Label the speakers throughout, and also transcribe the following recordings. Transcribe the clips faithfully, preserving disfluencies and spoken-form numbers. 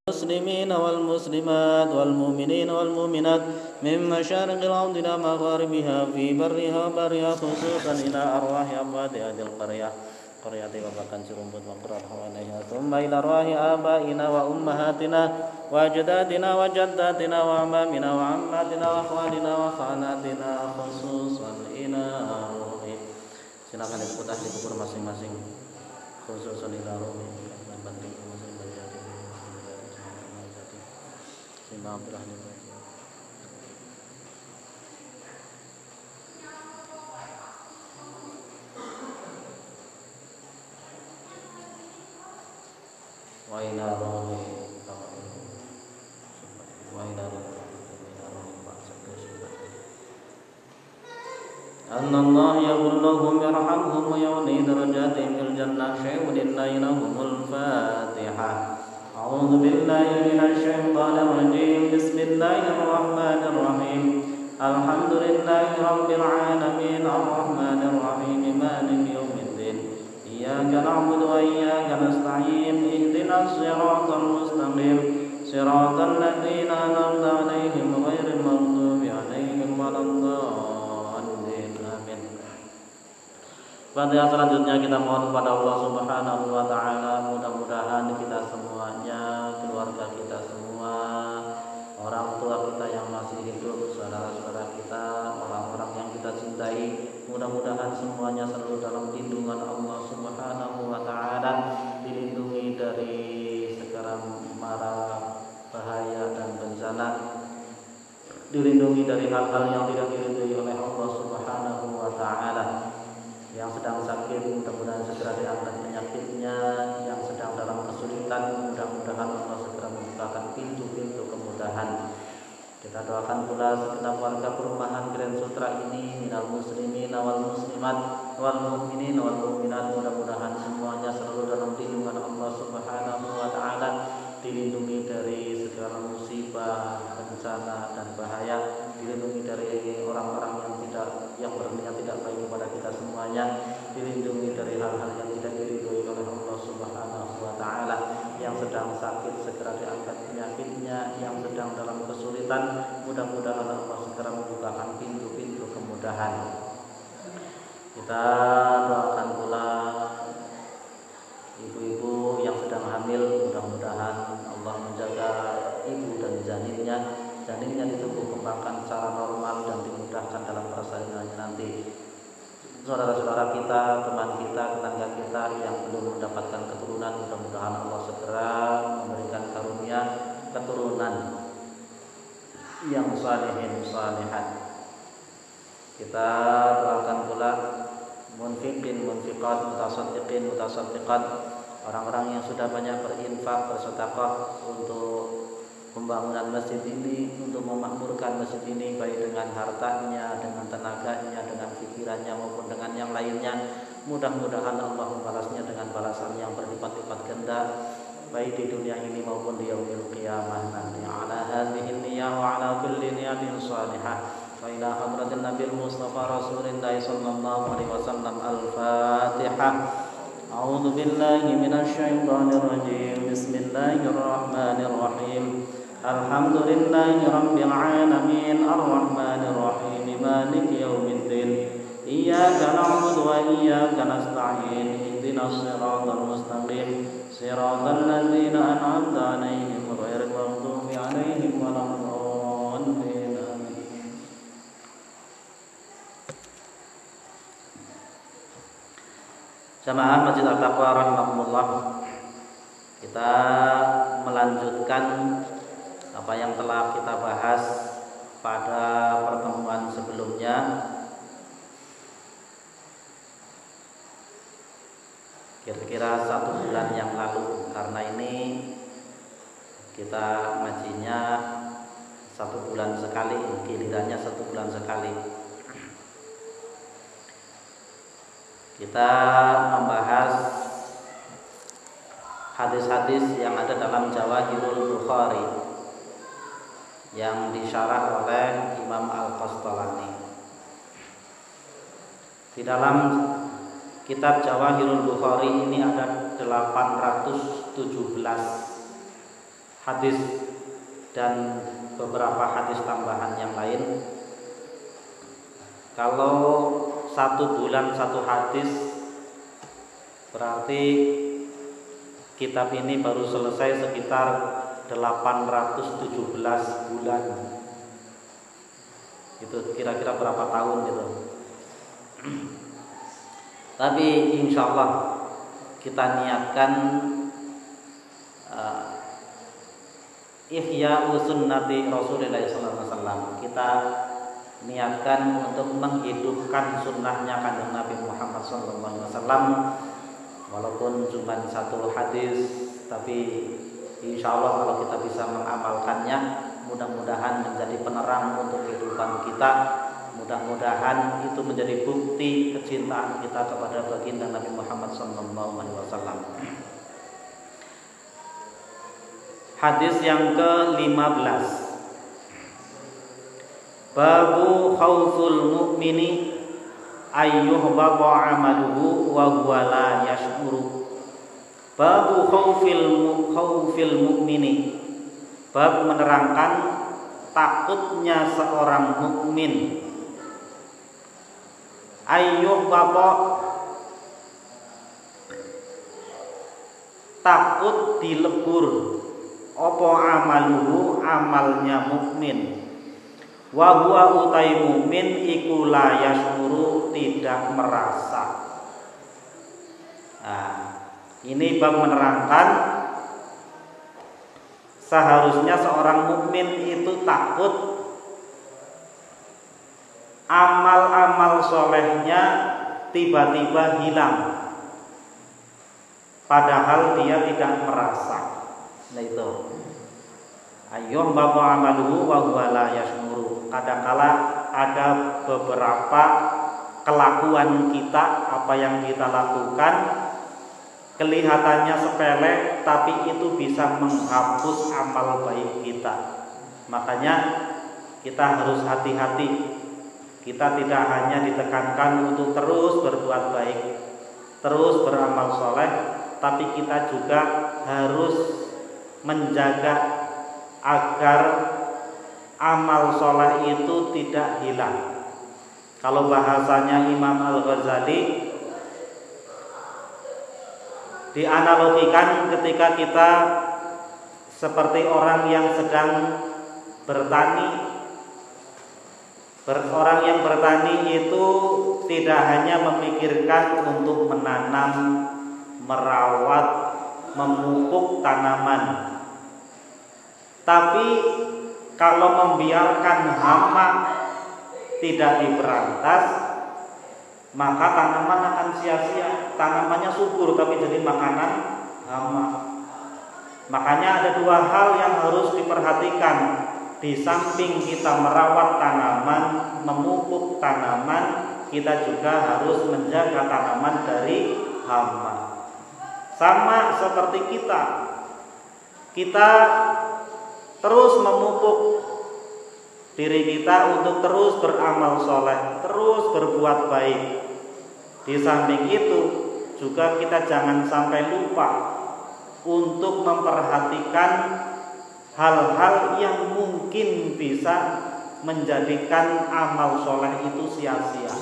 Speaker 1: المسلمين والمسلمات والمؤمنين والمؤمنات من مشارق الأرض إلى مغاربها في برها وبرها خصوصا إلى أرواح أموات هذه القرية قرية وبكان سرمبut وقرات حواليها ثم إلى أرواح آبائنا وأمهاتنا وأجدادنا وجداتنا وأعمامنا وعماتنا وأخوالنا وخالاتنا خصوصا إلى روح. Silakan diputah di kubur masing-masing. Khususan ila rohi banting muslim berjati Imam Abdurrahman wa ila rohi wa ila rohi أن الله يقول لهم يرحمهم ويعلي درجاتهم في الجنة شيء لله لهم الفاتحة. أعوذ بالله من الشيطان الرجيم. بسم الله الرحمن الرحيم. الحمد لله رب العالمين الرحمن الرحيم مالك يوم الدين إياك نعبد وإياك نستعين اهدنا الصراط المستقيم صراط الذين أنعمت عليهم غير المغضوب عليهم ولا الضالين. Pada selanjutnya kita mohon kepada Allah Subhanahu wa taala, mudah-mudahan kita semuanya, keluarga kita semua, orang tua kita yang masih hidup, saudara-saudara kita, orang-orang yang kita cintai, mudah-mudahan semuanya selalu dalam lindungan Allah Subhanahu wa taala, dilindungi dari segala mara bahaya dan bencana, dilindungi dari hal-hal yang tidak diridhoi oleh Allah Subhanahu wa taala. Yang sedang sakit mudah-mudahan segera diangkat penyakitnya, yang sedang dalam kesulitan mudah-mudahan Allah segera membukakan pintu-pintu kemudahan. Kita doakan pula segenap warga perumahan Grand Sutra ini, minal muslimin wal muslimat wal mu'minin wal mu'minat, mudah-mudahan semuanya selalu dalam lindungan Allah Subhanahu wa taala, dilindungi dari segala musibah, bencana dan bahaya, dilindungi dari orang-orang yang tidak yang berniat tidak baik kepada kita semuanya, dilindungi dari hal-hal yang tidak diridhoi oleh Allah Subhanahu wa taala, yang sedang sakit segera diangkat penyakitnya, yang sedang dalam kesulitan mudah-mudahan Allah segera membukakan pintu-pintu kemudahan. Kita doakan pula ibu-ibu yang sedang hamil, mudah-mudahan Allah menjaga ibu dan janinnya janinnya ditumbuh kembangkan secara normal dan dimudahkan dalam persalinannya nanti. Saudara-saudara kita, teman kita, tetangga kita yang belum mendapatkan keturunan, mudah-mudahan Allah segera memberikan karunia keturunan yang salihin salihat. Kita doakan pula munfiqin munfiqat, mutasaddiqin mutasaddiqat, orang-orang yang sudah banyak berinfak, bersedekah untuk pembangunan masjid ini, untuk memakmurkan masjid ini baik dengan hartanya, dengan tenaganya, dengan pikirannya maupun dengan yang lainnya. Mudah-mudahan Allah membalasnya dengan balasan yang berlipat-lipat ganda baik di dunia ini maupun di yaumil qiyamah nanti. Ala hadhihi niyyah wa ala kulli niyatin shalihah. Wa ila hadratin Nabil Mustafa Rasulillah sallallahu alaihi wasallam. Al-Fatihah. A'udzu billahi minasy syaithanir rajim. Bismillahirrahmanirrahim. Alhamdulillahi rabbil alamin arrahmanir rahim maliki yaumiddin iyyaka na'budu wa iyyaka nasta'in ihdinas siratal mustaqim siratal ladzina an'amta 'alaihim ghairil maghdubi 'alaihim waladdallin. Jamaah Masjid Al-Taqwa rahimakumullah, kita melanjutkan apa yang telah kita bahas pada pertemuan sebelumnya. Kira-kira satu bulan yang lalu, karena ini kita ngajinya satu bulan sekali, gilirannya satu bulan sekali. Kita membahas hadis-hadis yang ada dalam Jawahirul Bukhari yang disyarah oleh Imam Al-Qastalani. Di dalam kitab Jawahirul Bukhari ini ada delapan ratus tujuh belas hadis dan beberapa hadis tambahan yang lain. Kalau satu bulan satu hadis, berarti kitab ini baru selesai sekitar delapan ratus tujuh belas bulan. Itu kira-kira berapa tahun itu. Tapi insya Allah kita niatkan uh, Ihya sunnati Rasulullah sallallahu alaihi wasallam. Kita niatkan untuk menghidupkan sunnahnya kanjeng Nabi Muhammad sallallahu alaihi wasallam. Walaupun cuma satu hadis, tapi insya Allah kalau kita bisa mengamalkannya, mudah-mudahan menjadi penerang untuk kehidupan kita. Mudah-mudahan itu menjadi bukti kecintaan kita kepada baginda Nabi Muhammad sallallahu alaihi wasallam. Hadis yang ke lima belas. Babu khauful mu'mini ayyuhbata amaluhu wa huwa la yash'uru. Babu khaufil khaufil mu'mini. Bab menerangkan takutnya seorang mukmin. Ayyuhbata, takut dilebur apa amaluhu, amalnya mukmin. Wa huwa utai mukmin iku la yashuru, tidak merasa. Nah, ini bab menerangkan seharusnya seorang mukmin itu takut amal-amal solehnya tiba-tiba hilang, padahal dia tidak merasa. Nah itu, ayyuh bapak amaluhu wa huwa la yashuru. Kadangkala ada beberapa kelakuan kita, apa yang kita lakukan kelihatannya sepele, tapi itu bisa menghapus amal baik kita. Makanya kita harus hati-hati. Kita tidak hanya ditekankan untuk terus berbuat baik, terus beramal soleh, tapi kita juga harus menjaga agar amal soleh itu tidak hilang. Kalau bahasanya Imam Al-Ghazali, dianalogikan ketika kita seperti orang yang sedang bertani. Orang yang bertani itu tidak hanya memikirkan untuk menanam, merawat, memupuk tanaman, tapi kalau membiarkan hama tidak diberantas, maka tanaman akan sia-sia. Tanamannya subur tapi jadi makanan hama. Makanya ada dua hal yang harus diperhatikan. Di samping kita merawat tanaman, memupuk tanaman, kita juga harus menjaga tanaman dari hama. Sama seperti kita, kita terus memupuk diri kita untuk terus beramal soleh, terus berbuat baik. Di samping itu juga kita jangan sampai lupa untuk memperhatikan hal-hal yang mungkin bisa menjadikan amal soleh itu sia-sia.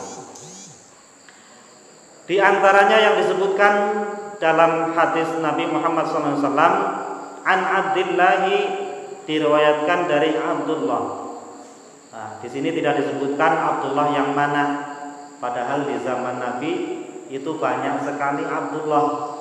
Speaker 1: Di antaranya yang disebutkan dalam hadis Nabi Muhammad shallallahu alaihi wasallam, an Abdillahi, diriwayatkan dari Abdullah. Nah, di sini tidak disebutkan Abdullah yang mana, padahal di zaman Nabi itu banyak sekali Abdullah.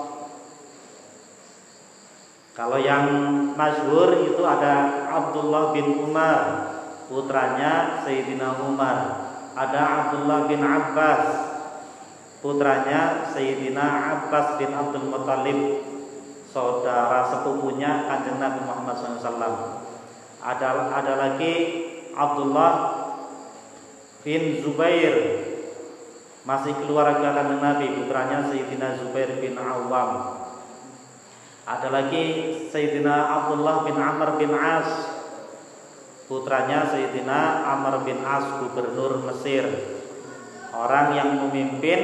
Speaker 1: Kalau yang masyhur itu ada Abdullah bin Umar, putranya Sayyidina Umar. Ada Abdullah bin Abbas, putranya Sayyidina Abbas bin Abdul Muttalib, saudara sepupunya Kanjeng Nabi Muhammad shallallahu alaihi wasallam. Ada ada lagi Abdullah bin Zubair, masih keluarga Kanjeng Nabi, putranya Sayyidina Zubair bin Awam. Ada lagi Sayyidina Abdullah bin Amr bin As, putranya Sayyidina Amr bin As, gubernur Mesir, orang yang memimpin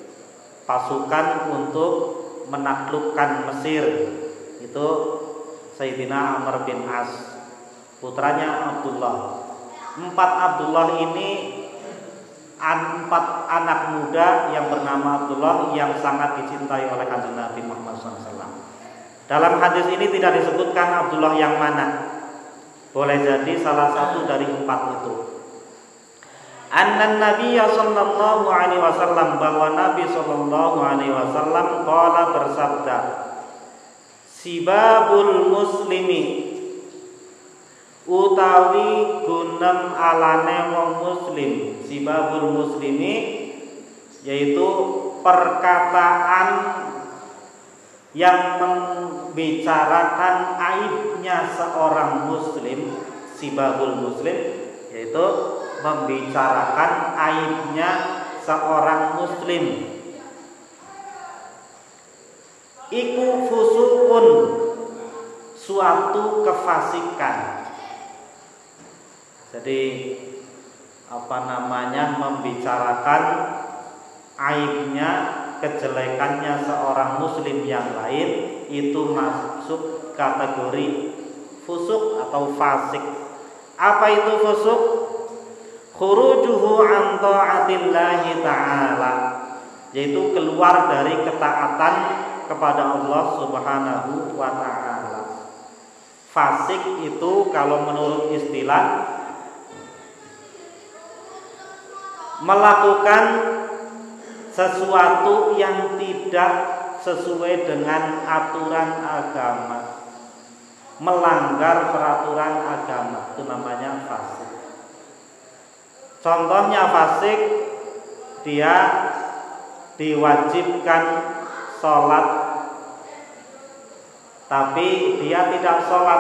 Speaker 1: pasukan untuk menaklukkan Mesir. Itu Sayyidina Amr bin As, putranya Abdullah. Empat Abdullah ini empat anak muda yang bernama Abdullah yang sangat dicintai oleh Kanjeng Nabi Muhammad shallallahu alaihi wasallam. Dalam hadis ini tidak disebutkan Abdullah yang mana. Boleh jadi salah satu dari empat itu. Anna Nabi sallallahu alaihi wasallam, bahwa Nabi sallallahu alaihi wasallam qala bersabda, sibabul muslimi utawi gunem alane wong muslim. Sibabul muslimi yaitu perkataan yang membicarakan aibnya seorang muslim. Sibabul muslim yaitu membicarakan aibnya seorang muslim. Iku fusukun, suatu kefasikan. Jadi apa namanya, membicarakan aibnya, kejelekannya seorang muslim yang lain, itu masuk kategori fusuk atau fasik. Apa itu fusuk? Khurujuhu an ta'atillahi ta'ala, yaitu keluar dari ketaatan kepada Allah Subhanahu wa ta'ala. Fasik itu kalau menurut istilah melakukan sesuatu yang tidak sesuai dengan aturan agama, melanggar peraturan agama, itu namanya fasik. Contohnya fasik, dia diwajibkan sholat tapi dia tidak sholat.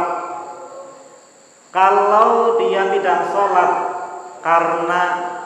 Speaker 1: Kalau dia tidak sholat karena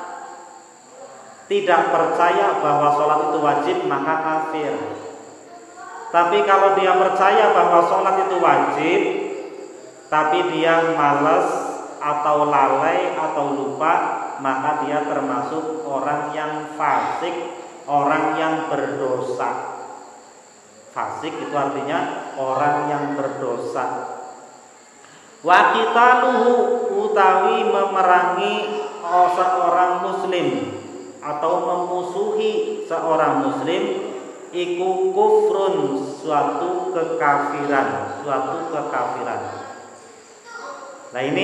Speaker 1: tidak percaya bahwa sholat itu wajib, maka kafir. Tapi kalau dia percaya bahwa sholat itu wajib, tapi dia malas atau lalai atau lupa, maka dia termasuk orang yang fasik, orang yang berdosa. Fasik itu artinya orang yang berdosa. Wa qitaluhu, utawi memerangi seorang muslim atau memusuhi seorang muslim, iku kufrun, suatu kekafiran, suatu kekafiran. Nah ini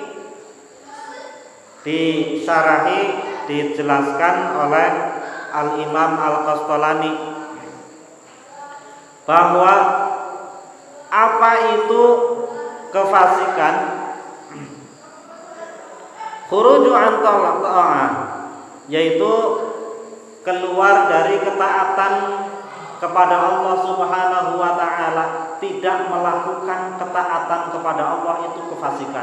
Speaker 1: disyarahi, dijelaskan oleh Al-Imam Al-Qastalani bahwa apa itu kefasikan. Khuruju an ta'ah, yaitu keluar dari ketaatan kepada Allah Subhanahu wa ta'ala, tidak melakukan ketaatan kepada Allah, itu kefasikan.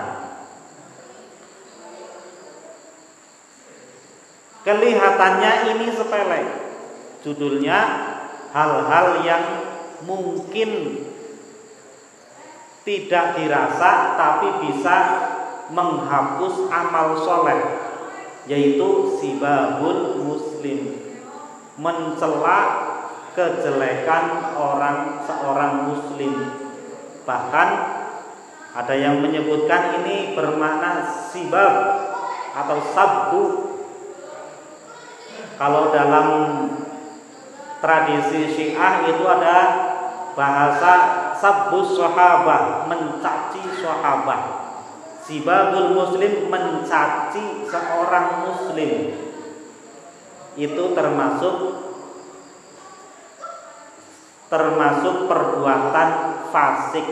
Speaker 1: Kelihatannya ini sepele, judulnya hal-hal yang mungkin tidak dirasa tapi bisa menghapus amal soleh, yaitu sibabul muslim, mencela kejelekan orang seorang muslim. Bahkan ada yang menyebutkan ini bermakna sibab atau sabbu. Kalau dalam tradisi Syiah itu ada bahasa sabbus sahabah, mencaci sahabat. Sibabul muslim, mencaci seorang muslim, itu termasuk termasuk perbuatan fasik.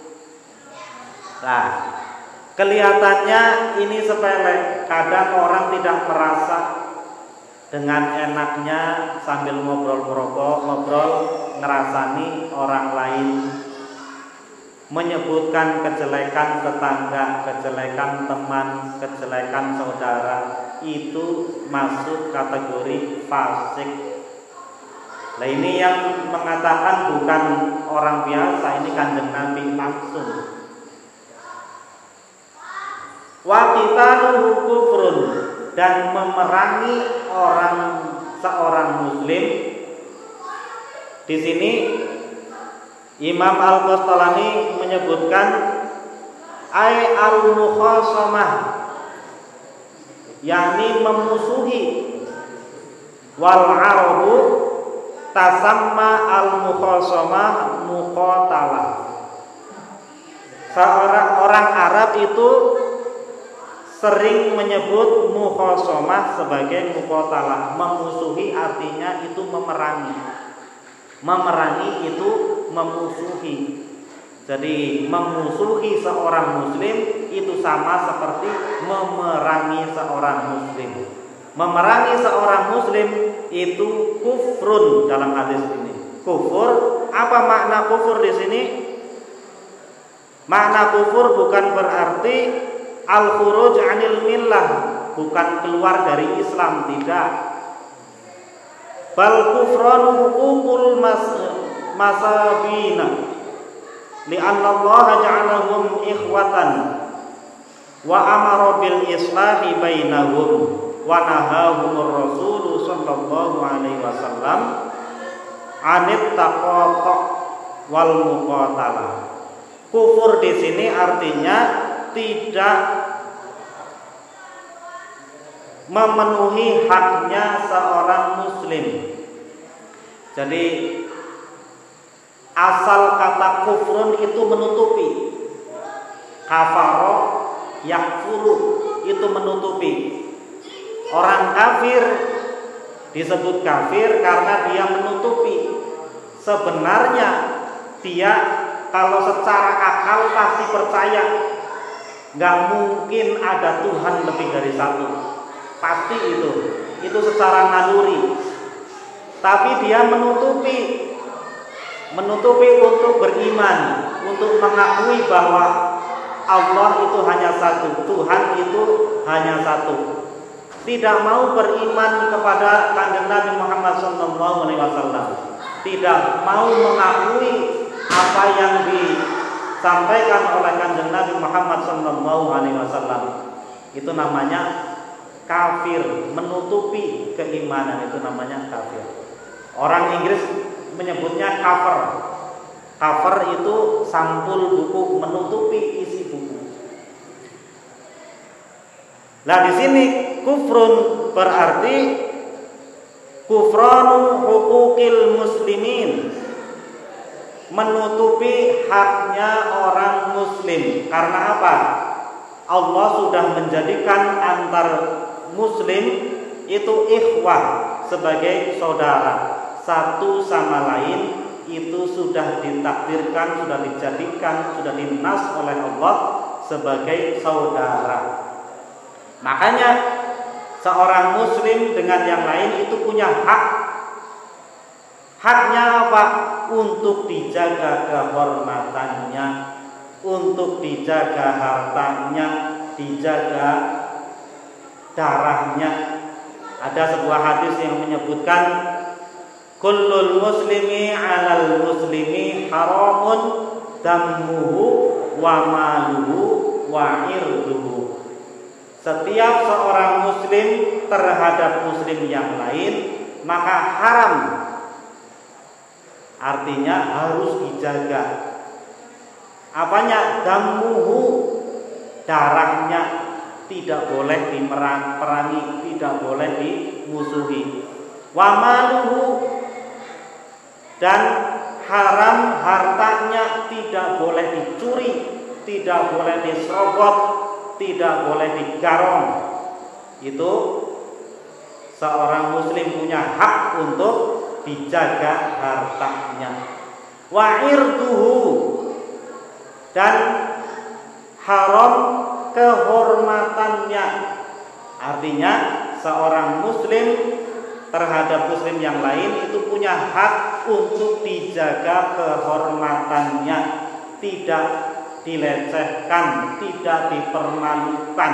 Speaker 1: Nah, kelihatannya ini sepele. Kadang orang tidak merasa, dengan enaknya sambil ngobrol merokok, ngobrol ngerasani orang lain, menyebutkan kejelekan tetangga, kejelekan teman, kejelekan saudara, itu masuk kategori fasik. Nah ini yang mengatakan bukan orang biasa, ini Kanjeng Nabi langsung. Wa qitaluhu kufrun, dan memerangi orang seorang muslim di sini Imam Al-Qastalani menyebutkan ai al-mukhasamah, yakni memusuhi, wal arabu tasamma al-mukhasamah muqatalah. Seorang orang Arab itu sering menyebut mukhasamah sebagai muqatalah. Memusuhi artinya itu memerangi. Memerangi itu memusuhi. Jadi memusuhi seorang muslim itu sama seperti memerangi seorang muslim. Memerangi seorang muslim itu kufrun dalam hadis ini. Kufur, apa makna kufur di sini? Makna kufur bukan berarti al-khuruj 'anil millah, bukan keluar dari Islam, tidak. Bal kufranu huququl mas masabina li'anna Allah ja'alahum ikhwatan wa amara bil islahi bainahum wa nahahumur rasul sallallahu alaihi wasallam 'anit taqata wal muqatalah. Kufur di sini artinya tidak memenuhi haknya seorang muslim. Jadi asal kata kufrun itu menutupi. Kafaro yakfuru itu menutupi. Orang kafir disebut kafir karena dia menutupi. Sebenarnya dia kalau secara akal pasti percaya nggak mungkin ada Tuhan lebih dari satu. Pasti itu, itu secara naluri. Tapi dia menutupi, menutupi untuk beriman, untuk mengakui bahwa Allah itu hanya satu, Tuhan itu hanya satu. Tidak mau beriman kepada Kanjeng Nabi Muhammad shallallahu alaihi wasallam. Tidak mau mengakui apa yang disampaikan oleh Kanjeng Nabi Muhammad shallallahu alaihi wasallam. Itu namanya kafir, menutupi keimanan, itu namanya kafir. Orang Inggris menyebutnya cover. Cover itu sampul buku, menutupi isi buku. Nah, di sini kufrun berarti kufranu huquqil muslimin, menutupi haknya orang muslim. Karena apa? Allah sudah menjadikan antar muslim itu ikhwah, sebagai saudara, satu sama lain itu sudah ditakdirkan, sudah dijadikan, sudah dinas oleh Allah sebagai saudara. Makanya seorang muslim dengan yang lain itu punya hak. Haknya apa? Untuk dijaga kehormatannya, untuk dijaga hartanya, dijaga darahnya. Ada sebuah hadis yang menyebutkan kullul muslimi 'alal muslimi haramun dammuhu wa maluhu wa irduhu. Setiap seorang muslim terhadap muslim yang lain maka haram, artinya harus dijaga. Apanya? Dammuhu, darahnya tidak boleh diperangi, tidak boleh dimusuhi. Wa maluhu, dan haram hartanya tidak boleh dicuri, tidak boleh diserobot, tidak boleh digarong. Itu seorang muslim punya hak untuk dijaga hartanya. Wa irduhu, dan haram kehormatannya. Artinya seorang muslim terhadap muslim yang lain itu punya hak untuk dijaga kehormatannya, tidak dilecehkan, tidak dipermalukan.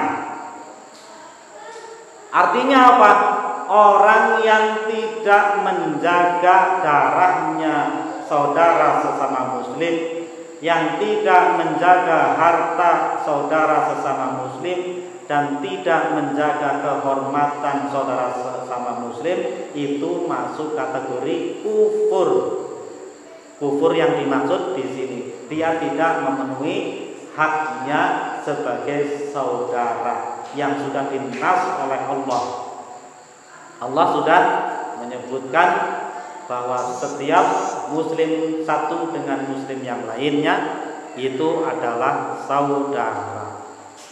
Speaker 1: Artinya apa? Orang yang tidak menjaga darahnya saudara sesama muslim, yang tidak menjaga harta saudara sesama muslim, dan tidak menjaga kehormatan saudara sesama muslim, itu masuk kategori kufur. kufur yang dimaksud di sini. Dia tidak memenuhi haknya sebagai saudara yang sudah dinas oleh Allah. Allah sudah menyebutkan bahwa setiap muslim satu dengan muslim yang lainnya itu adalah saudara.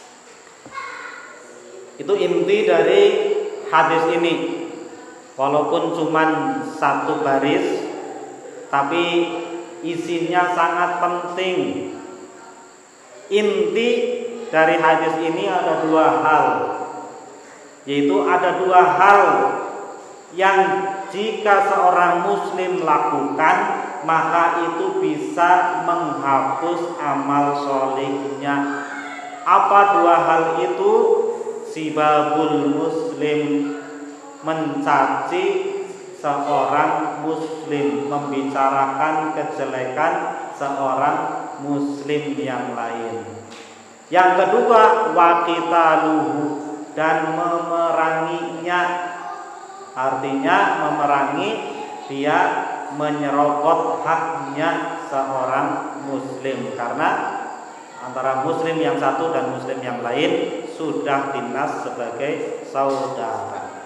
Speaker 1: Itu inti dari hadis ini. Walaupun cuma satu baris, tapi isinya sangat penting. Inti dari hadis ini ada dua hal, yaitu ada dua hal yang jika seorang muslim lakukan, maka itu bisa menghapus amal solehnya. Apa dua hal itu? Sibabul muslim, mencaci seorang muslim, membicarakan kejelekan seorang muslim yang lain. Yang kedua, waqitaluhu, dan memeranginya. Artinya memerangi, dia menyerobot haknya seorang muslim, karena antara muslim yang satu dan muslim yang lain sudah dinas sebagai saudara.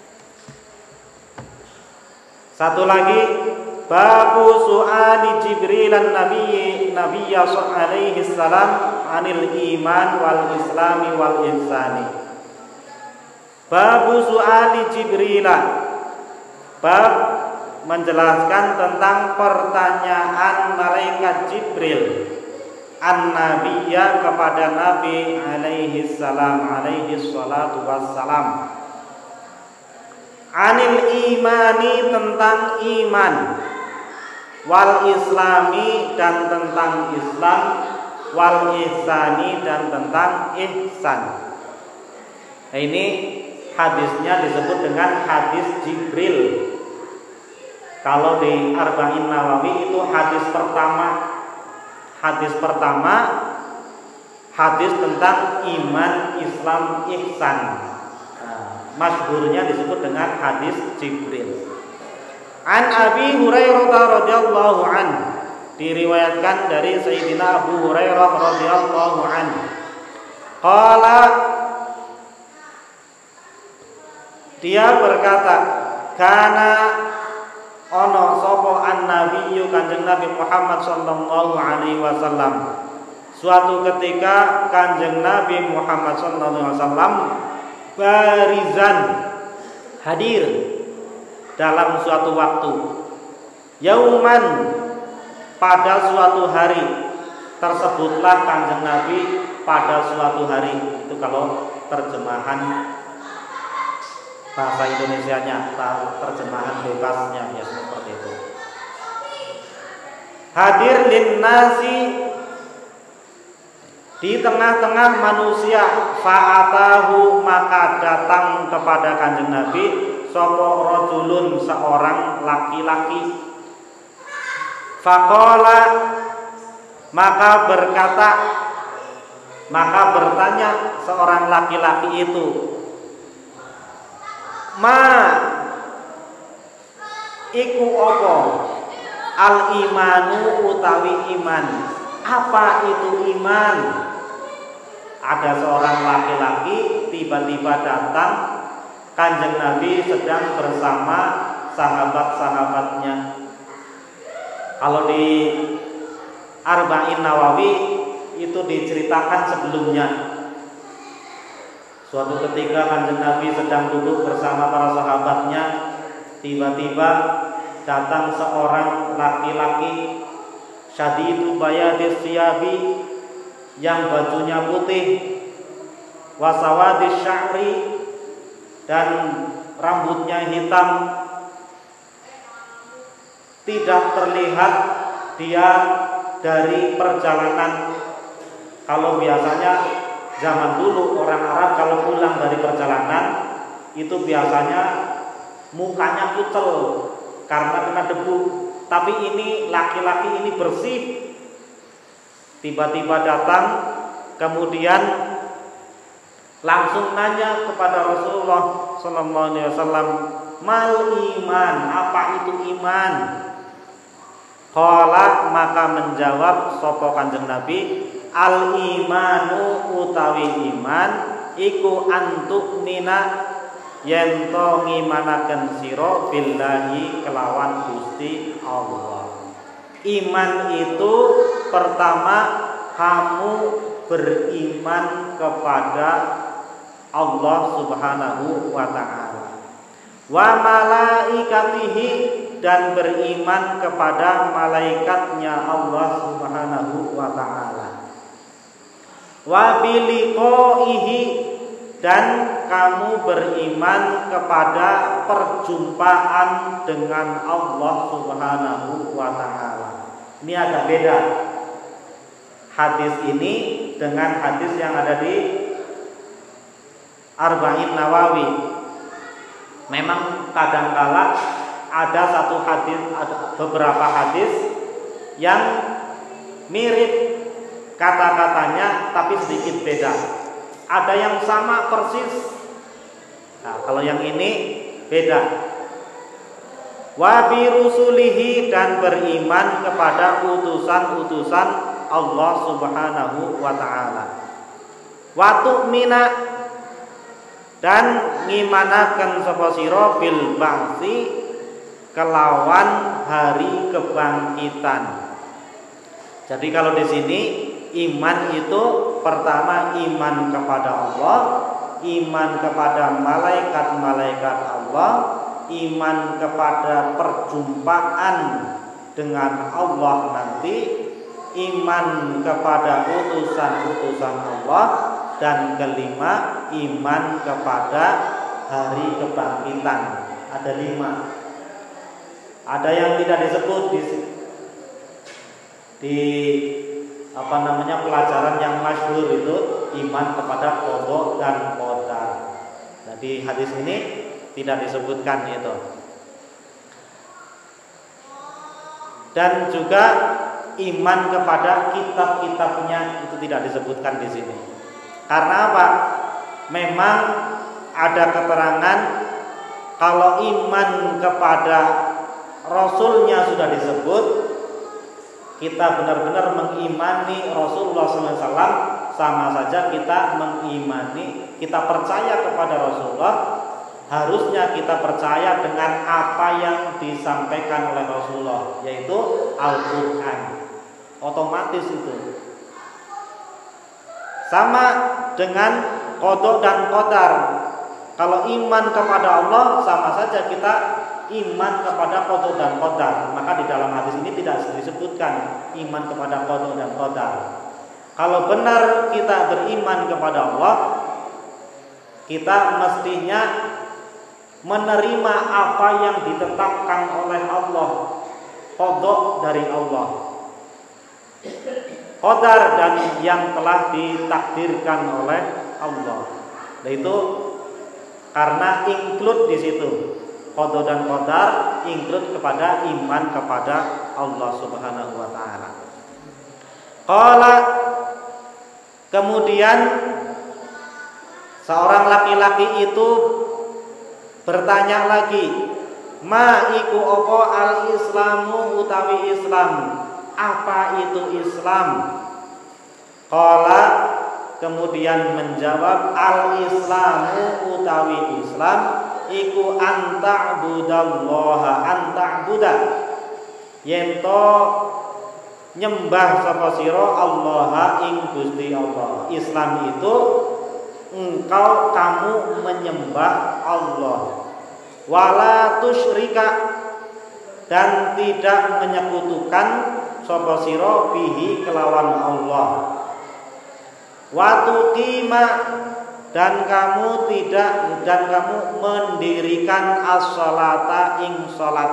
Speaker 1: Satu lagi, babu su'ali Jibril an-Nabi Nabiyya alaihi salam anil iman wal islami wal ihsani. Babu su'ali Jibril, bab menjelaskan tentang pertanyaan malaikat Jibril an-Nabiyya kepada Nabi alaihi salam, alaihi salatu wassalam, anil imani, tentang iman, wal islami, dan tentang Islam, wal ihsani, dan tentang ihsan. Nah, ini hadisnya disebut dengan hadis Jibril. Kalau di Arba'in Nawawi itu hadis pertama. Hadis pertama, hadis tentang iman, Islam, ihsan. Nah, masyhurnya disebut dengan hadis Jibril. An Abi Hurairah radhiyallahu an, diriwayatkan dari Sayyidina Abu Hurairah radhiyallahu an. Qala, dia berkata, kana ono sopo an-nabiyyu, kanjeng Nabi Muhammad sallallahu alaihi wasallam. Suatu ketika kanjeng Nabi Muhammad sallallahu alaihi wasallam barizan, hadir dalam suatu waktu, yauman, pada suatu hari. Tersebutlah kanjeng Nabi pada suatu hari. Itu kalau terjemahan bahasa Indonesianya, terjemahan bebasnya ya seperti itu. Hadir linnasi, di tengah-tengah manusia, fa'atahu, maka datang kepada kanjeng Nabi sapa rajulun, seorang laki-laki. Faqala, maka berkata, maka bertanya seorang laki-laki itu, ma iku opo al imanu utawi iman, apa itu iman? Ada seorang laki-laki tiba-tiba datang, kanjeng Nabi sedang bersama sahabat-sahabatnya. Kalau di Arba'in Nawawi itu diceritakan sebelumnya. Suatu ketika kanjeng Nabi sedang duduk bersama para sahabatnya, tiba-tiba datang seorang laki-laki syadidu bayadis siyabi, yang bajunya putih, wasawadis sya'ri, dan rambutnya hitam. Tidak terlihat dia dari perjalanan. Kalau biasanya zaman dulu orang Arab kalau pulang dari perjalanan itu biasanya mukanya kucel karena kena debu. Tapi ini laki-laki ini bersih. Tiba-tiba datang, kemudian langsung nanya kepada Rasulullah sallallahu alaihi wasallam, mal iman, apa itu iman? Qala maka menjawab sapa Kanjeng Nabi, al imanu utawi iman iku antuk nina yen to ngimanaken sira billahi kelawan Gusti Allah. Iman itu pertama kamu beriman kepada Allah Subhanahu wa taala. Wa malaikatihi dan beriman kepada malaikatnya Allah Subhanahu wa taala. Wa biliqaihi dan kamu beriman kepada perjumpaan dengan Allah Subhanahu wa taala. Ini agak beda hadis ini dengan hadis yang ada di Arba'in Nawawi. Memang kadangkala ada satu hadis, ada beberapa hadis yang mirip kata-katanya tapi sedikit beda. Ada yang sama persis. Nah, kalau yang ini beda. Wa bi rusulihi dan beriman kepada utusan-utusan Allah Subhanahu wa taala. Wa tu'mina dan ngimanaken sapa sira bil ba'si kelawan hari kebangkitan. Jadi kalau di sini iman itu pertama iman kepada Allah, iman kepada malaikat-malaikat Allah, iman kepada perjumpaan dengan Allah nanti, iman kepada utusan-utusan Allah, dan kelima iman kepada hari kebangkitan. Ada lima. Ada yang tidak disebut di, di apa namanya pelajaran yang masyhur itu iman kepada qada dan qadar. Nah, di hadis ini tidak disebutkan itu. Dan juga iman kepada kitab-kitabnya itu tidak disebutkan di sini. Karena apa? Memang ada keterangan kalau iman kepada Rasulnya sudah disebut, kita benar-benar mengimani Rasulullah shallallahu alaihi wasallam, sama saja kita mengimani, kita percaya kepada Rasulullah. Harusnya kita percaya dengan apa yang disampaikan oleh Rasulullah, yaitu Al-Quran. Otomatis itu. Sama dengan qada dan qadar. Kalau iman kepada Allah, sama saja kita iman kepada qada dan qadar. Maka di dalam hadis ini tidak disebutkan iman kepada qada dan qadar. Kalau benar kita beriman kepada Allah, kita mestinya menerima apa yang ditetapkan oleh Allah, qada dari Allah, qadar dan yang telah ditakdirkan oleh Allah. Nah, itu karena include di situ. Qada dan qadar include kepada iman kepada Allah Subhanahu wa taala. Qala, kemudian seorang laki-laki itu bertanya lagi, ma iku apa al-islamu utawi Islam? Apa itu Islam? Qala, kemudian menjawab, al-islamu utawi Islam iku anta'budallaha anta'buda yento nyembah sapa sira Allah ing Gusti Allah. Islam itu engkau kamu menyembah Allah, wala tusyrika dan tidak menyekutukan sapa sira bihi kelawan Allah, wa tuqima dan kamu tidak dan kamu mendirikan as-salata ing salat,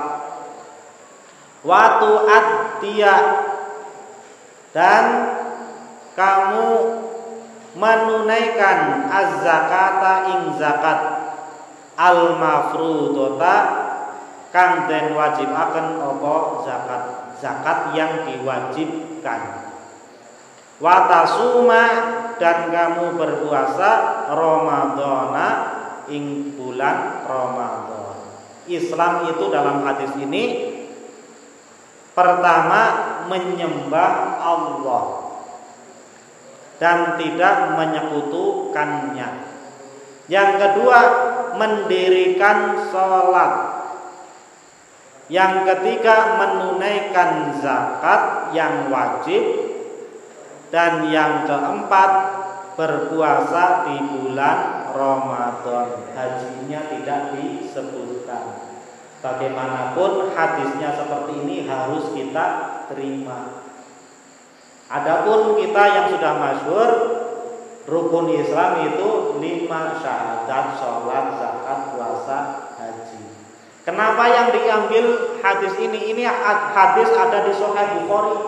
Speaker 1: wa tu'addiya dan kamu menunaikan az-zakata ing zakat, al-mafrudota kang den wajibaken apa zakat, zakat yang diwajibkan, wa tasuma dan kamu berpuasa Ramadhana ing bulan Ramadan. Islam itu dalam hadis ini
Speaker 2: Pertama, menyembah Allah dan tidak menyekutukannya. Yang kedua, mendirikan sholat. Yang ketiga, menunaikan zakat yang wajib. Dan yang keempat, berpuasa di bulan Ramadan. Hajinya tidak disebutkan. Bagaimanapun hadisnya seperti ini harus kita terima. Adapun kita yang sudah masyhur, rukun Islam itu lima syahadat, sholat, zakat, puasa, haji. Kenapa yang diambil hadis ini? Ini hadis ada di Sahih Bukhari.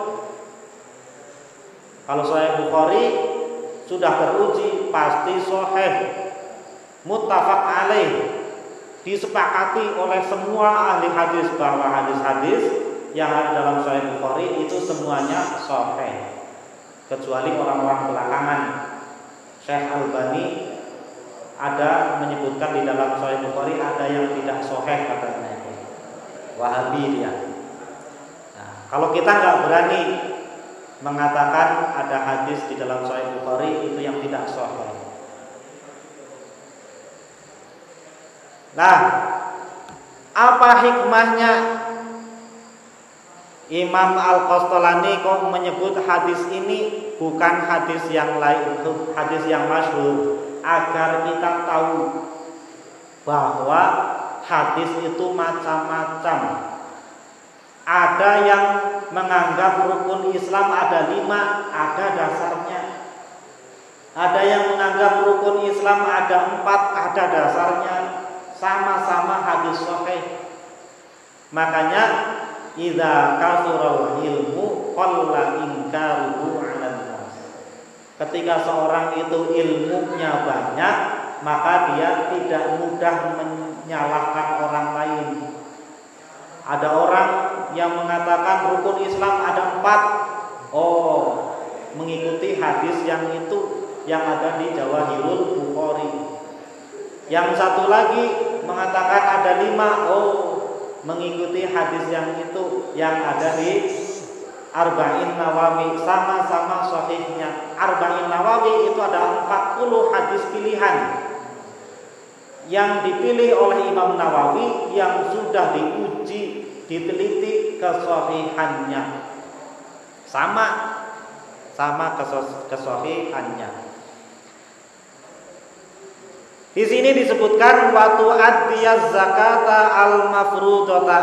Speaker 2: Kalau Sahih Bukhari sudah teruji, pasti sahih, muttafaq alaih, disepakati oleh semua ahli hadis bahwa hadis-hadis yang ada dalam Sahih Bukhari itu semuanya sahih, kecuali orang-orang belakangan. Syekh Albani ada menyebutkan di dalam Sahih Bukhari ada yang tidak sahih, katanya Wahabi dia. Nah, kalau kita nggak berani mengatakan ada hadis di dalam Sahih Bukhari itu yang tidak sahih. Nah, apa hikmahnya Imam Al-Qastalani kok menyebut hadis ini bukan hadis yang lain, hadis yang masyhur, agar kita tahu bahwa hadis itu macam-macam. Ada yang menganggap rukun Islam ada lima, ada dasarnya. Ada yang menganggap rukun Islam ada empat, ada dasarnya. Sama-sama hadis sahih. Makanya idza kasural ilmu qalla inkaruhu 'alan nas. Ketika seorang itu ilmunya banyak, maka dia tidak mudah menyalahkan orang lain. Ada orang yang mengatakan rukun Islam ada empat, oh, mengikuti hadis yang itu yang ada di Jawahirul Bukhari. Yang satu lagi mengatakan ada lima, oh, mengikuti hadis yang itu yang ada di Arba'in Nawawi, sama-sama sahihnya. Arba'in Nawawi itu ada empat puluh hadis pilihan yang dipilih oleh Imam Nawawi yang sudah diuji, diteliti kesahihannya. Sama sama kesahihannya. Di sini disebutkan watu adiyaz zakata al-mafrudata,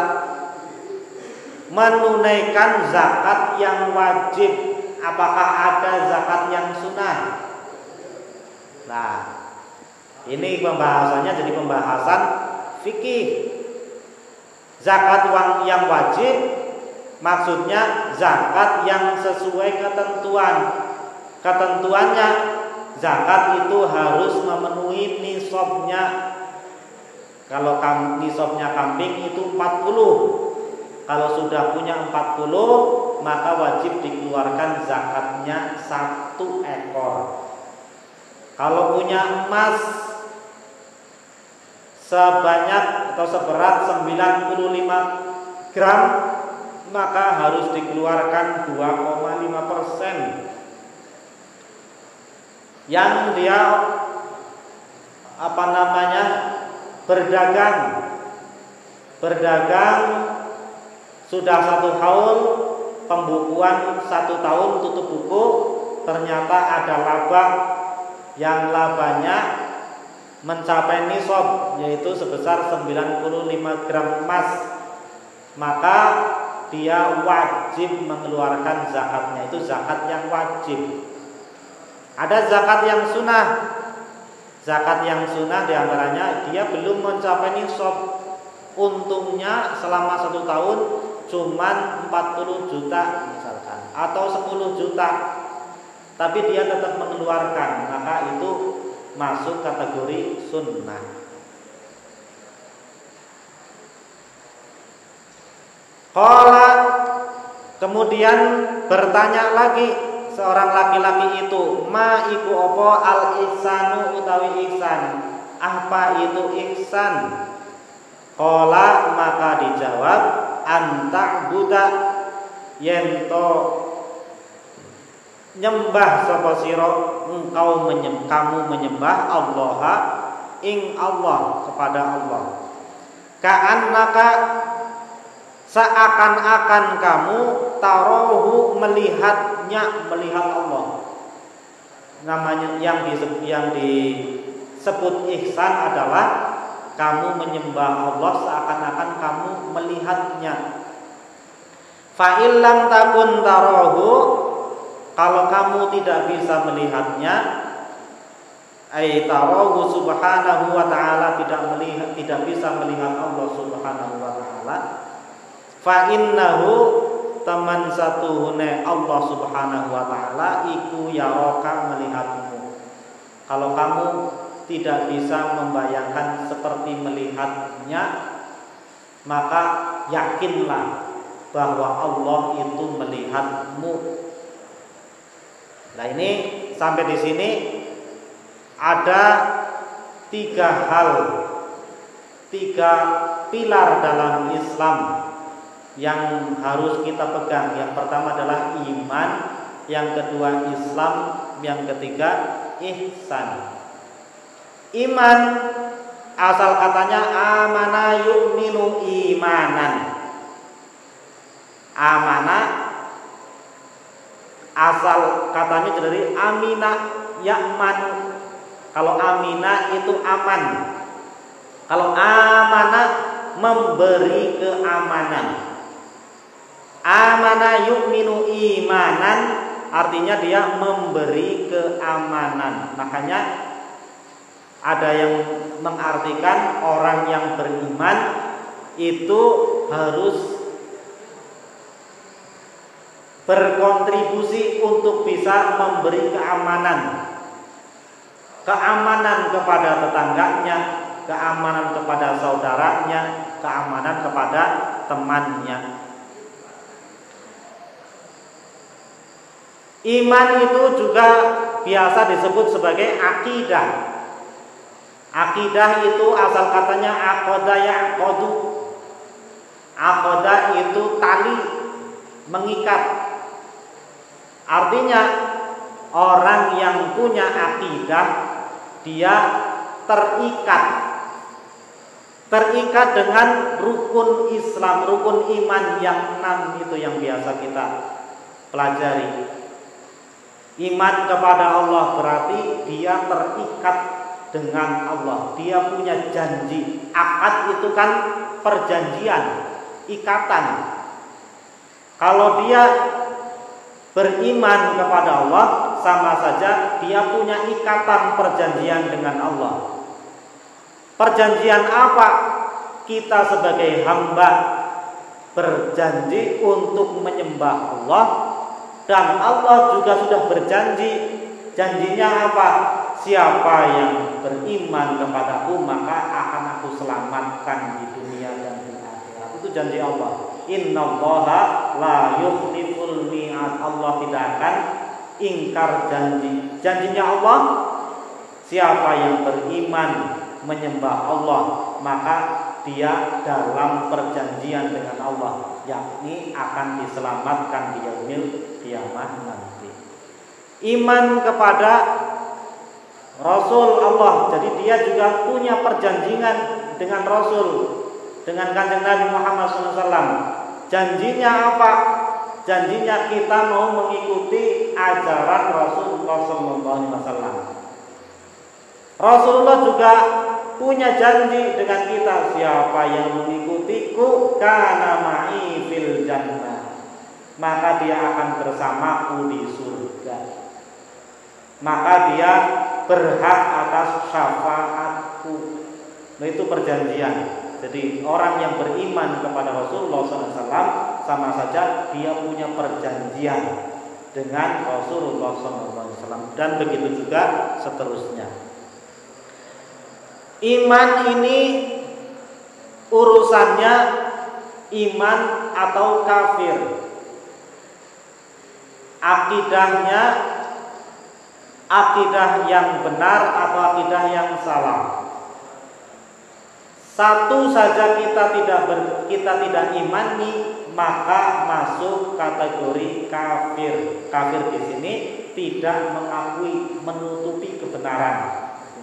Speaker 2: menunaikan zakat yang wajib. Apakah ada zakat yang sunnah? Nah, ini pembahasannya jadi pembahasan fikih. Zakat yang wajib maksudnya zakat yang sesuai ketentuan. Ketentuannya zakat itu harus memenuhi nisabnya. Kalau nisabnya kambing itu empat puluh. Kalau sudah punya empat puluh, maka wajib dikeluarkan zakatnya satu ekor. Kalau punya emas sebanyak atau seberat sembilan puluh lima gram, maka harus dikeluarkan dua koma lima persen. Yang dia apa namanya berdagang berdagang sudah satu haul, pembukuan satu tahun tutup buku, ternyata ada laba yang labanya mencapai nisab, yaitu sebesar sembilan puluh lima gram emas, maka dia wajib mengeluarkan zakatnya. Itu zakat yang wajib. Ada zakat yang sunnah. Zakat yang sunnah diantaranya dia belum mencapai nisab, untungnya selama satu tahun cuman empat puluh juta misalkan, atau sepuluh juta, tapi dia tetap mengeluarkan, maka itu masuk kategori sunnah. Qala, kemudian bertanya lagi seorang laki-laki itu, ma iku opo al ihsanu utawi ihsan, apa itu ihsan? Qala, maka dijawab, anta budak yen to nyembah sapa sira engkau menyembah kamu menyembah Allah ing Allah kepada Allah. Ka'annaka seakan-akan kamu tarohu melihatnya, melihat Allah. Namanya yang disebut, yang disebut ihsan adalah kamu menyembah Allah seakan-akan kamu melihatnya. Fa illam takun tarohu, kalau kamu tidak bisa melihatnya, ay tarohu subhanahu wa ta'ala, tidak melihat, tidak bisa melihat Allah subhanahu wa ta'ala, fa innahu teman satuhune Allah subhanahu wa ta'ala iku yaraka melihatmu. Kalau kamu tidak bisa membayangkan seperti melihatnya, maka yakinlah bahwa Allah itu melihatmu. Nah, ini sampai di sini ada tiga hal, tiga pilar dalam Islam yang harus kita pegang. Yang pertama adalah iman, yang kedua Islam, yang ketiga ihsan. Iman asal katanya amana yu'minu imanan. Amana asal katanya dari amina ya'man. Kalau amina itu aman. Kalau amana memberi keamanan. Amana yu'minu imanan artinya dia memberi keamanan. Makanya ada yang mengartikan orang yang beriman itu harus berkontribusi untuk bisa memberi keamanan. Keamanan kepada tetangganya, keamanan kepada saudaranya, keamanan kepada temannya. Iman itu juga biasa disebut sebagai akidah. Akidah itu asal katanya aqada ya'qadu. Aqada itu tali, mengikat. Artinya orang yang punya akidah dia terikat. Terikat dengan rukun Islam, rukun iman yang enam itu yang biasa kita pelajari. Iman kepada Allah berarti dia terikat dengan Allah. Dia punya janji. Akad itu kan perjanjian, ikatan. Kalau dia beriman kepada Allah, sama saja dia punya ikatan perjanjian dengan Allah. Perjanjian apa? Kita sebagai hamba berjanji untuk menyembah Allah, dan Allah juga sudah berjanji. Janjinya apa? Siapa yang beriman kepadaku maka akan aku selamatkan di dunia dan di akhirat. Itu janji Allah. Innallaha la yukhliful mi'ad. Allah tidak akan ingkar janji. Janjinya Allah, siapa yang beriman menyembah Allah maka dia dalam perjanjian dengan Allah, yakni akan diselamatkan di yaumil kiamah nanti. Iman kepada Rasul Allah, jadi dia juga punya perjanjian dengan Rasul, dengan Kanjeng Nabi Muhammad shallallahu alaihi wasallam. Janjinya apa? Janjinya kita mau mengikuti ajaran Rasulullah shallallahu alaihi wasallam. Rasulullah juga punya janji dengan kita, siapa yang mengikutiku kana ma'i fil jannah, maka dia akan bersamaku di surga. Maka dia berhak atas syafaatku. Nah, itu perjanjian. Jadi orang yang beriman kepada Rasulullah shallallahu alaihi wasallam sama saja dia punya perjanjian dengan Rasulullah shallallahu alaihi wasallam, dan begitu juga seterusnya. Iman ini urusannya iman atau kafir. Akidahnya akidah yang benar atau akidah yang salah. Satu saja kita tidak ber, kita tidak imani, maka masuk kategori kafir. Kafir di sini tidak mengakui, menutupi kebenaran.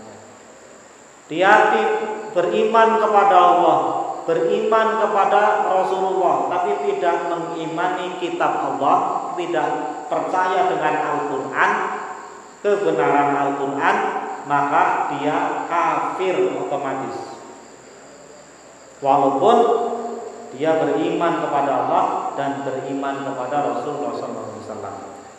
Speaker 2: Dia beriman kepada Allah, beriman kepada Rasulullah, tapi tidak mengimani kitab Allah, tidak percaya dengan Al-Quran, kebenaran Al-Quran, maka dia kafir otomatis. Walaupun dia beriman kepada Allah dan beriman kepada Rasulullah shallallahu alaihi wasallam.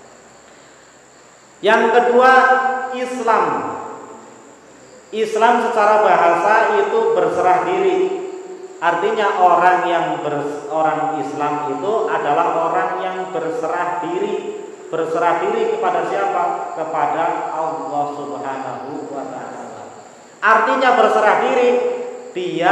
Speaker 2: Yang kedua, Islam. Islam secara bahasa itu berserah diri. Artinya orang yang ber, orang Islam itu adalah orang yang berserah diri. Berserah diri kepada siapa? Kepada Allah Subhanahu wa ta'ala. Artinya berserah diri, dia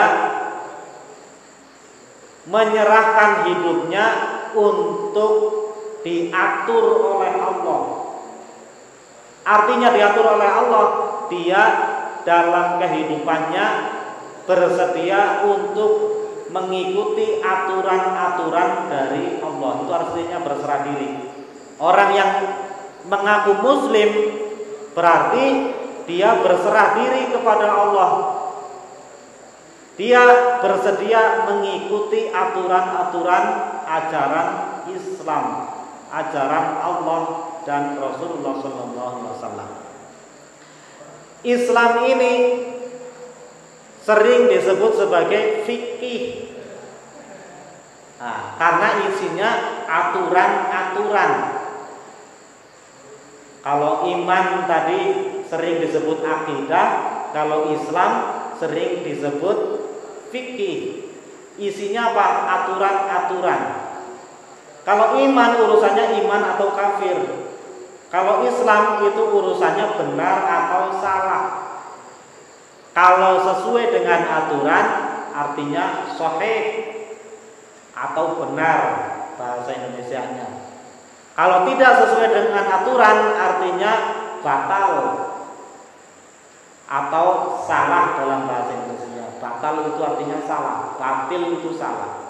Speaker 2: menyerahkan hidupnya untuk diatur oleh Allah. Artinya diatur oleh Allah, dia dalam kehidupannya bersedia untuk mengikuti aturan-aturan dari Allah. Itu artinya berserah diri. Orang yang mengaku muslim berarti dia berserah diri kepada Allah. Dia bersedia mengikuti aturan-aturan ajaran Islam, ajaran Allah dan Rasulullah shallallahu alaihi wasallam. Islam ini sering disebut sebagai fikih, nah, karena isinya aturan-aturan. Kalau iman tadi sering disebut akidah, kalau Islam sering disebut fikih. Isinya apa? Aturan-aturan. Kalau iman urusannya iman atau kafir. Kalau Islam itu urusannya benar atau salah. Kalau sesuai dengan aturan artinya sahih atau benar bahasa Indonesianya. Kalau tidak sesuai dengan aturan artinya batal atau salah dalam bahasa Indonesia. Batal itu artinya salah, batil itu salah.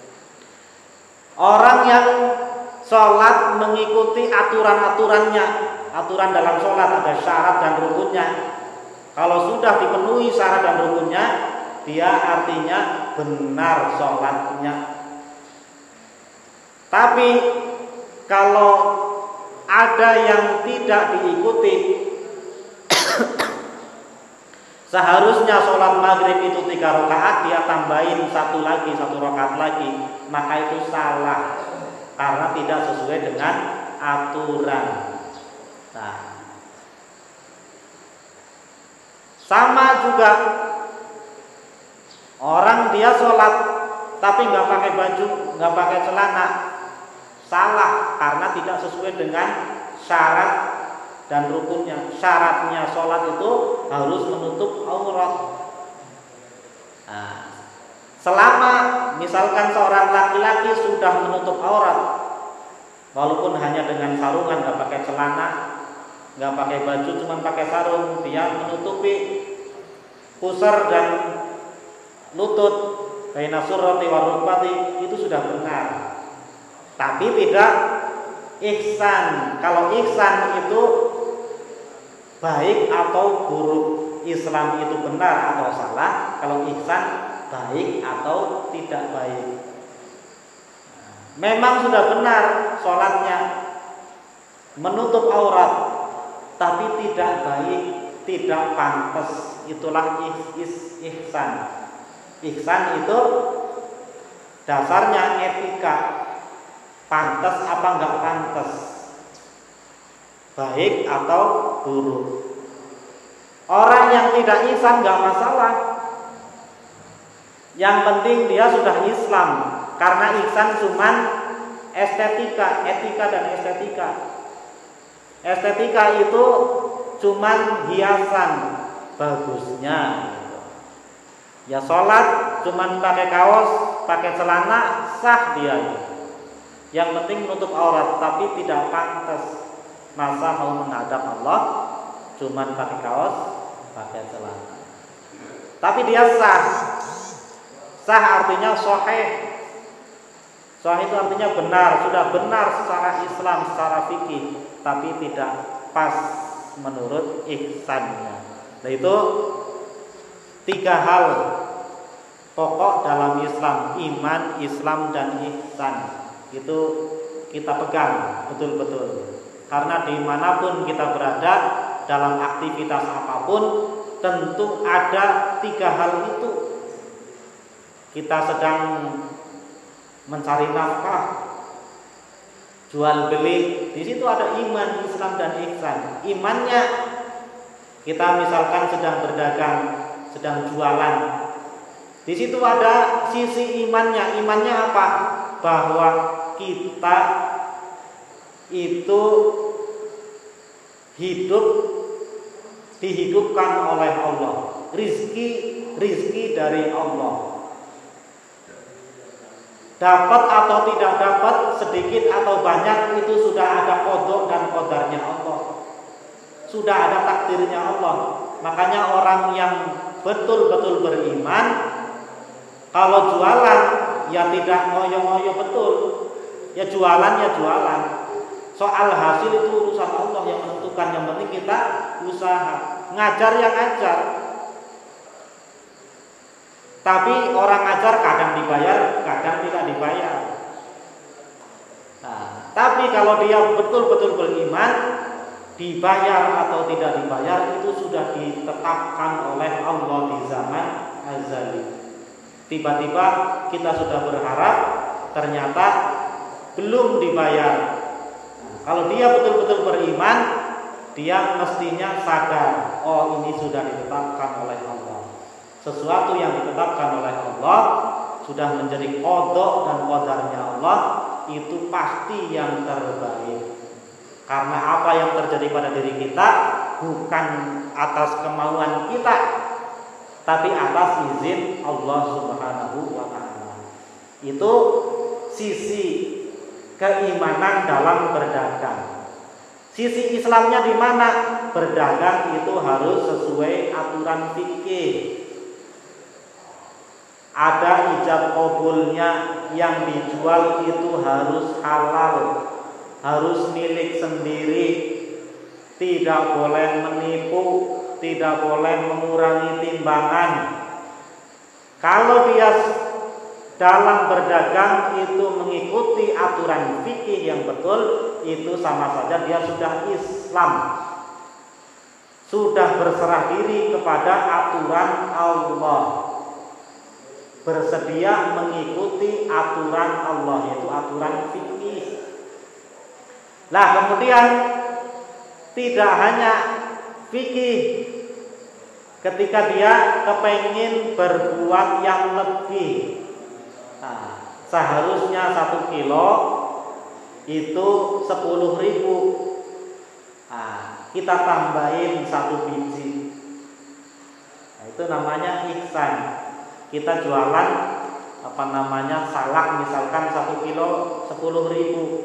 Speaker 2: Orang yang sholat mengikuti aturan-aturannya. Aturan dalam sholat ada syarat dan rukunnya. Kalau sudah dipenuhi syarat dan rukunnya, dia artinya benar sholatnya. Tapi kalau ada yang tidak diikuti, seharusnya sholat maghrib itu tiga rakaat, dia tambahin satu lagi, satu rakaat lagi, maka itu salah karena tidak sesuai dengan aturan. Nah, sama juga orang dia sholat tapi nggak pakai baju, nggak pakai celana, salah karena tidak sesuai dengan syarat dan rukunnya. Syaratnya sholat itu harus menutup aurat. Nah, selama misalkan seorang laki-laki sudah menutup aurat, walaupun hanya dengan sarungan, nggak pakai celana, nggak pakai baju, cuma pakai sarung, dia menutupi pusar dan lutut, baina surrati wa rukbati, itu sudah benar. Tapi tidak ihsan. Kalau ihsan itu baik atau buruk, Islam itu benar atau salah. Kalau ihsan baik atau tidak baik. Memang sudah benar sholatnya, menutup aurat, tapi tidak baik, tidak pantas. Itulah is, is, ihsan. Ihsan itu dasarnya etika, pantas apa enggak pantas, baik atau buruk. Orang yang tidak ihsan enggak masalah. Yang penting dia sudah Islam. Karena ihsan cuman estetika, etika dan estetika. Estetika itu cuman hiasan bagusnya. Ya sholat cuman pakai kaos, pakai celana, sah dia. Yang penting menutup aurat, tapi tidak pantas. Masa mau menghadap Allah cuman pakai kaos, pakai celana. Tapi dia sah. Sah artinya sahih. Sahih itu artinya benar, sudah benar secara Islam, secara fikih, tapi tidak pas menurut ihsannya. Nah itu tiga hal pokok dalam Islam: iman, Islam, dan ihsan. Itu kita pegang betul-betul. Karena dimanapun kita berada, dalam aktivitas apapun, tentu ada tiga hal itu. Kita sedang mencari nafkah, jual beli, di situ ada iman, Islam, dan ihsan. Imannya, kita misalkan sedang berdagang, sedang jualan, di situ ada sisi imannya. Imannya apa? Bahwa kita itu hidup dihidupkan oleh Allah, rizki rizki dari Allah. Dapat atau tidak dapat, sedikit atau banyak, itu sudah ada qada dan qadarnya Allah, sudah ada takdirnya Allah. Makanya orang yang betul-betul beriman, kalau jualan ya tidak ngoyo-ngoyo betul, ya jualan ya jualan. Soal hasil itu urusan Allah yang menentukan. Yang penting kita usaha, ngajar yang ngajar. Tapi orang ngajar kadang dibayar, kadang tidak dibayar. Nah, tapi kalau dia betul-betul beriman, dibayar atau tidak dibayar itu sudah ditetapkan oleh Allah di zaman azali. Tiba-tiba kita sudah berharap, ternyata belum dibayar. Nah, kalau dia betul-betul beriman, dia mestinya sadar, oh ini sudah ditetapkan oleh Allah. Sesuatu yang ditetapkan oleh Allah sudah menjadi qada dan qadarnya Allah, itu pasti yang terbaik. Karena apa yang terjadi pada diri kita bukan atas kemauan kita, tapi atas izin Allah Subhanahu wa ta'ala. Itu sisi keimanan dalam berdagang. Sisi Islamnya di mana? Berdagang itu harus sesuai aturan fikih. Ada ijab qabulnya, yang dijual itu harus halal, harus milik sendiri, tidak boleh menipu, tidak boleh mengurangi timbangan. Kalau dia dalam berdagang itu mengikuti aturan fikih yang betul, itu sama saja dia sudah Islam, sudah berserah diri kepada aturan Allah, bersedia mengikuti aturan Allah, yaitu aturan fikih. Lah kemudian tidak hanya fikih, ketika dia kepengin berbuat yang lebih, nah, seharusnya satu kilo itu sepuluh ribu, nah, kita tambahin satu biji, nah, itu namanya ihsan. Kita jualan apa namanya salak misalkan satu kilo sepuluh ribu,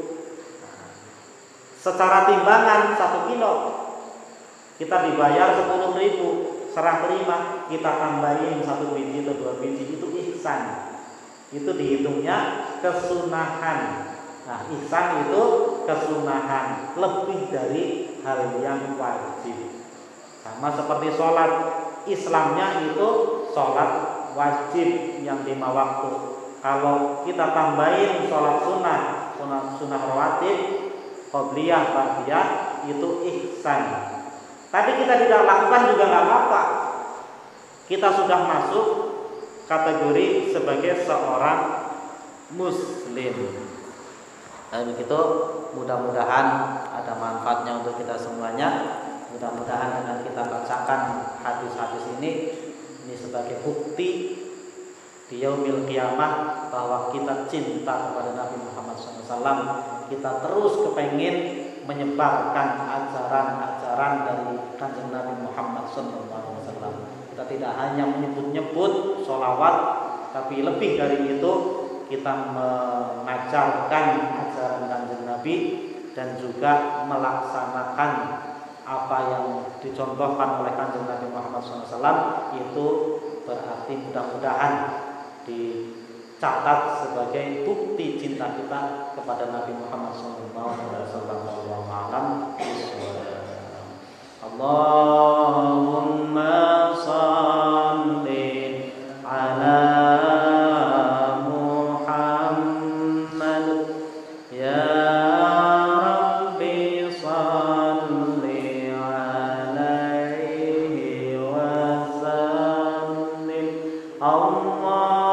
Speaker 2: secara timbangan satu kilo kita dibayar sepuluh ribu, serah terima, kita tambahin satu biji atau dua biji, itu ihsan. Itu dihitungnya kesunahan. Nah, ihsan itu kesunahan, lebih dari hal yang wajib. Sama seperti sholat, Islamnya itu sholat wajib yang lima waktu. Kalau kita tambahin sholat sunnah, sunnah, sunnah rawatib, qobliyah, ba'diyah, itu ihsan. Tapi kita tidak lakukan juga nggak apa-apa. Kita sudah masuk kategori sebagai seorang muslim. Nah, begitu, mudah-mudahan ada manfaatnya untuk kita semuanya. Mudah-mudahan dengan kita bacakan hadis-hadis ini, ini sebagai bukti di yaumil qiyamah bahwa kita cinta kepada Nabi Muhammad shallallahu alaihi wasallam. Kita terus kepengin menyebarkan ajaran-ajaran dari kanjeng Nabi Muhammad shallallahu alaihi wasallam. Kita tidak hanya menyebut-nyebut sholawat, tapi lebih dari itu kita mengajarkan ajaran kanjeng Nabi dan juga melaksanakan apa yang dicontohkan oleh kanjeng Nabi Muhammad shallallahu alaihi wasallam. Itu berarti mudah-mudahan di catat sebagai bukti cinta kita kepada Nabi Muhammad shallallahu alaihi wasallam. Wallahu a'lam bishawab. Allahumma shalli ala Muhammad ya Rabbi shalli alaihi wa sallim. Allah